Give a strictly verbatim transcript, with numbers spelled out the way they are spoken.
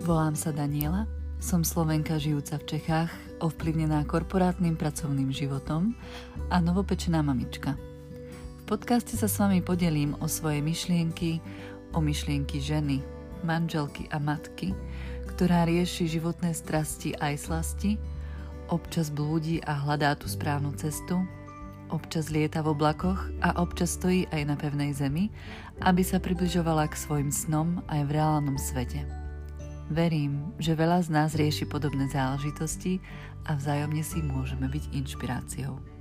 Volám sa Daniela, som Slovenka žijúca v Čechách, ovplyvnená korporátnym pracovným životom a novopečená mamička. V podcaste sa s vami podelím o svoje myšlienky, o myšlienky ženy, manželky a matky, ktorá rieši životné strasti aj slasti, občas blúdi a hľadá tú správnu cestu, občas lieta v oblakoch a občas stojí aj na pevnej zemi, aby sa približovala k svojim snom aj v reálnom svete. Verím, že veľa z nás rieši podobné záležitosti a vzájomne si môžeme byť inšpiráciou.